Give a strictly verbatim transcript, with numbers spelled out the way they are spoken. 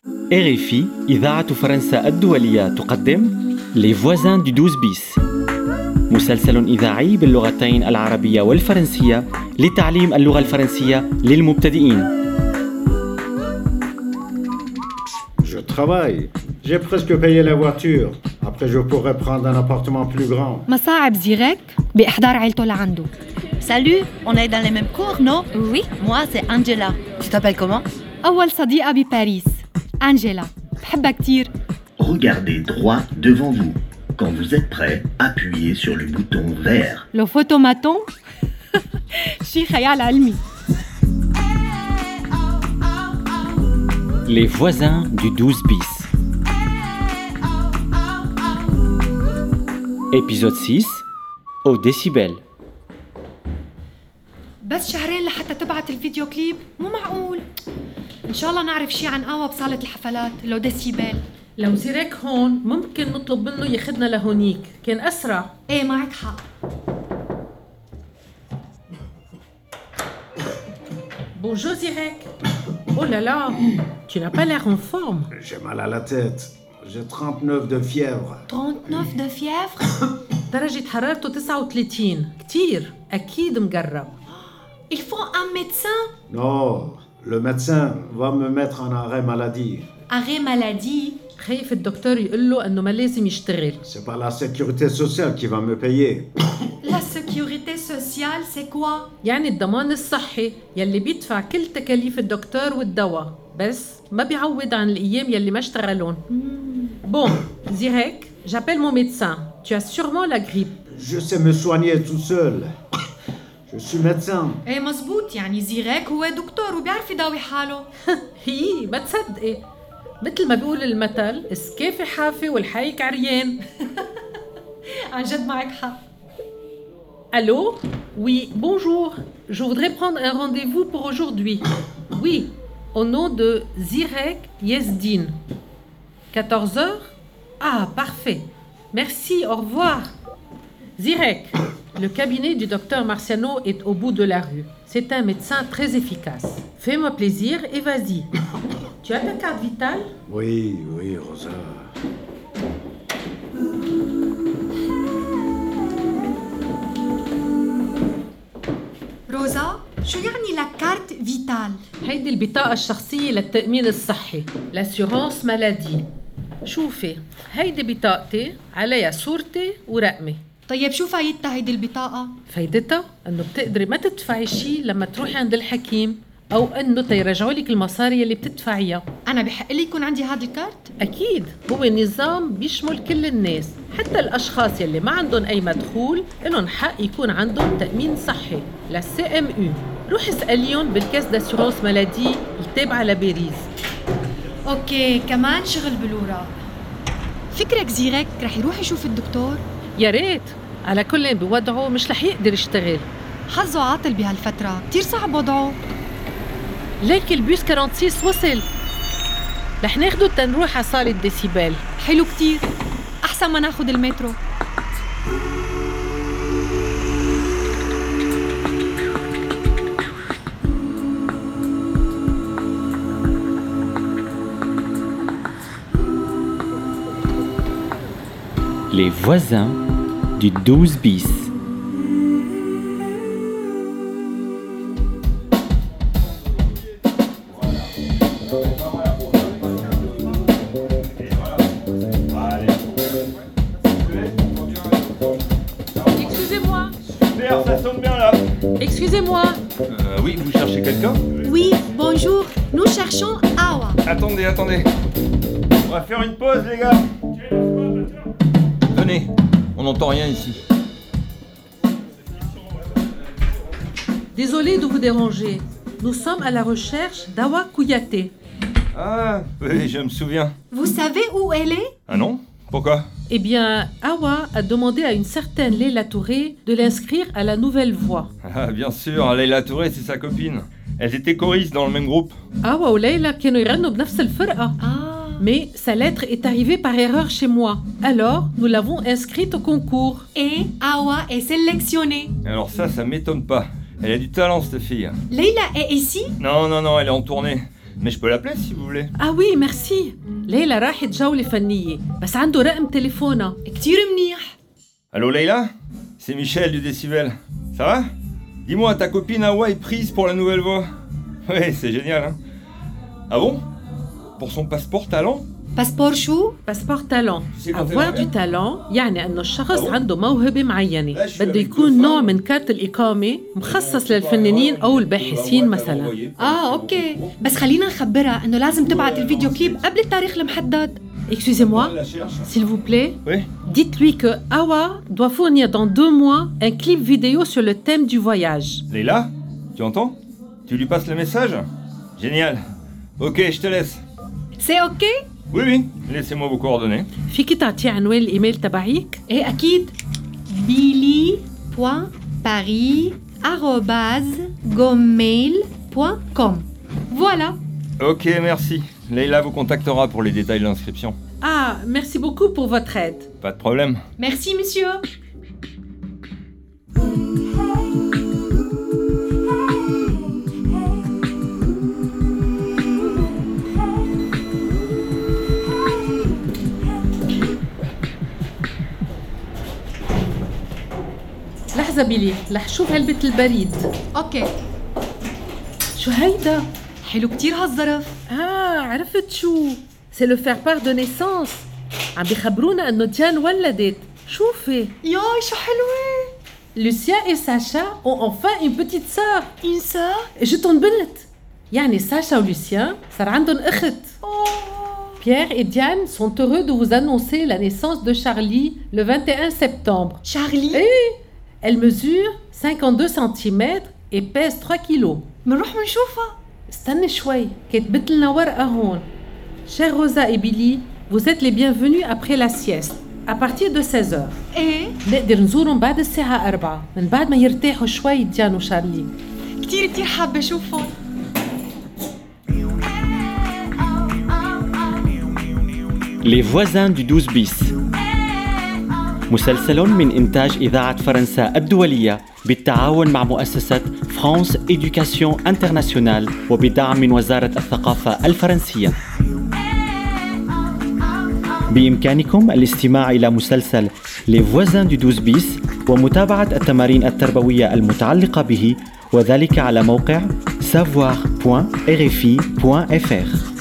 إر إف إي إذاعة فرنسا الدولية تقدم Les voisins du douze bis مسلسل إذاعي باللغتين العربية والفرنسية لتعليم اللغة الفرنسية للمبتدئين. Je travaille. J'ai presque payé la voiture. Après, je pourrais prendre un appartement plus grand. مصاعب زيريك بإحضار عيلته لعنده. Salut, on est dans les mêmes cours, non? Oui. Moi, c'est Angela. Tu t'appelles comment? أول صديقة بباريس أنجيلا بحبها كتير. Regardez droit devant vous. Quand vous êtes prêt, appuyez sur le bouton vert. لو فوتوماتون شي خيال علمي. Les voisins du douze bis. Épisode six. Au décibel. بس شهرين لحتى تبعت الفيديو كليب؟ مو معقول. إن شاء الله نعرف شي عن قهوة بصالة الحفلات لو ديسيبل. لو زيريك هون ممكن نطلب منه ياخدنا لهونيك، كان أسرع. إيه معك حق. Bonjour Zirek. Oh là là, tu n'as pas l'air en forme. J'ai mal à la tête. J'ai trente-neuf de fièvre. trente-neuf de fièvre. درجة حرارته تسعة وثلاثين، كتير، أكيد مقرب. Il faut un médecin. Non, le médecin va me mettre en arrêt maladie. Arrêt maladie. خايف الدكتور يقول له إنه ما لازم يشتغل. C'est pas la sécurité sociale qui va me payer. La sécurité sociale, c'est quoi? يعني الضمان الصحي يلي بيدفع كل تكاليف الدكتور والدواء، بس ما بيعوض عن الأيام يلي ما اشتغلون. Bon, Zirek, j'appelle mon médecin. Tu as sûrement la grippe. Je sais me soigner tout seul. Je suis médecin. ايه مزبوط، يعني زيريك هو دكتور وبيعرف يداوي حاله. هي ما تصدقي، مثل ما بيقول المثل السكافي حافي والحيك عريان. عن جد معك حق. Allô? Oui, bonjour. Je voudrais prendre un rendez-vous pour aujourd'hui. Oui, au nom de Zirek Yezdin. quatorze heures? Ah, parfait. Merci, au revoir. Zirek, le cabinet du docteur Marciano est au bout de la rue. C'est un médecin très efficace. Fais-moi plaisir et vas-y. Tu as ta carte vitale? Oui, oui, Rosa. روزا، شو يعني لا كارت فيتال؟ هيدي البطاقة الشخصية للتأمين الصحي، l'assurance maladie. شوفي، هيدي بطاقتي عليها صورتي ورقمي. طيب شو فايدتها هيدي البطاقة؟ فايدتها إنه بتقدري ما تدفعي شي لما تروحي عند الحكيم، أو إنه تيرجعوا لك المصاري اللي بتدفعيها. أنا بحق لي يكون عندي هذا الكارت؟ أكيد، هو نظام بيشمل كل الناس، حتى الأشخاص يلي ما عندهم أي مدخول إلهم حق يكون عندهم تأمين صحي، لا سي إم أو. روحي اسأليهم بالكاس داسيورانس مالادي التابعة لباريس. أوكي، كمان شغل بالوراق. فكرك زيريك رح يروح يشوف الدكتور؟ يا ريت، على كل بوضعه مش رح يقدر يشتغل. حظه عاطل بهالفترة، كتير صعب وضعه. ليك البيس ستة وأربعين وصل، رح ناخده تنروح على صالة ديسيبل. حلو كتير، أحسن ما ناخد المترو. Les voisins du douze bis. Excusez-moi. Super, ça sonne bien là. Excusez-moi. Euh, oui, vous cherchez quelqu'un? Oui, bonjour, nous cherchons Awa. Attendez, attendez. On va faire une pause, les gars. Venez, on n'entend rien ici. Désolé de vous déranger. Nous sommes à la recherche d'Awa Kouyaté. Ah, oui, je me souviens. Vous savez où elle est? Ah non? Pourquoi? Eh bien, Awa a demandé à une certaine Leila Touré de l'inscrire à la nouvelle voix. Ah, bien sûr, Leila Touré, c'est sa copine. Elles étaient choristes dans le même groupe. Awa ou Leila كانوا يغنوا بنفس الفرقة. Ah. Mais sa lettre est arrivée par erreur chez moi. Alors, nous l'avons inscrite au concours. Et Awa est sélectionnée. Alors ça, ça m'étonne pas. Elle a du talent, cette fille. Leila est ici? Non, non, non, elle est en tournée. mais je peux l'appeler si vous voulez. Ah oui, merci. ليلى راحت جولة فنية بس عنده رقم تليفونها. كتير منيح. Allô Leïla? C'est Michel du Décibel. Ça va? Dis-moi, ta copine Hawa est prise pour la nouvelle voix. Ouais, c'est génial, hein? Ah bon? Pour son passeport talent? باسبور شو؟ باسبور تالون. avoir du talent يعني انه الشخص أبو. عنده موهبة معينة، لا، شو بده يعني يكون كل نوع فن؟ من كارت الإقامة مخصص للفنانين أو الباحثين مثلا. اه اوكي، بس خلينا نخبرها انه لازم تبعت الفيديو كليب قبل التاريخ المحدد. Excusez-moi, s'il vous plaît, Oui? dites-lui que Hawa doit fournir dans deux mois un clip vidéo sur le thème du voyage. Leïla? Tu entends? Tu lui passes le message? Génial. Ok, je te laisse. سي اوكي؟ Oui, oui, laissez-moi vos coordonnées. فيكي تعطيه عنوان الإيميل تبعيك؟ ايه اكيد. بيلي بوان باري آروباز جوميل بوان كوم. فوالا. Ok, merci. Leïla vous contactera pour les détails de l'inscription. Ah, merci beaucoup pour votre aide. Pas de problème. ميرسي مسيو. لحظة بيلي، رح شوف علبة البريد. اوكي. شو هيدا؟ حلو كتير هالظرف. آه عرفت شو؟ سي لو فير بار دو نيسانس. عم بيخبرونا إنه ديان ولدت. شوفي. ياي شو حلوة. Lucien et Sacha ont enfin une petite sœur. Une sœur? جتهم بنت. يعني ساشا ولوسيان صار عندهم أخت. Pierre et Diane sont heureux de vous annoncer la naissance de Charlie le vingt et un septembre. Charlie? Eh, elle mesure cinquante-deux centimètres et pèse trois kilos. منروح منشوفها. استني شوي، كتبت لنا ورقة هون. Chers Rosa et Billy, vous êtes les bienvenus après la sieste. À partir de seize heures. ايه؟ نقدر نزورهم بعد الساعة أربعة من بعد ما يرتاحوا شوي ديان وشارلي. كتير كتير حابة أشوفهم. Les voisins du douze bis مسلسل من إنتاج إذاعة فرنسا الدولية بالتعاون مع مؤسسة فرانس إدوكاسيون انترناسيونال وبدعم من وزارة الثقافة الفرنسية. بإمكانكم الاستماع إلى مسلسل Les voisins du douze bis ومتابعة التمارين التربوية المتعلقة به، وذلك على موقع savoir point r f i point f r.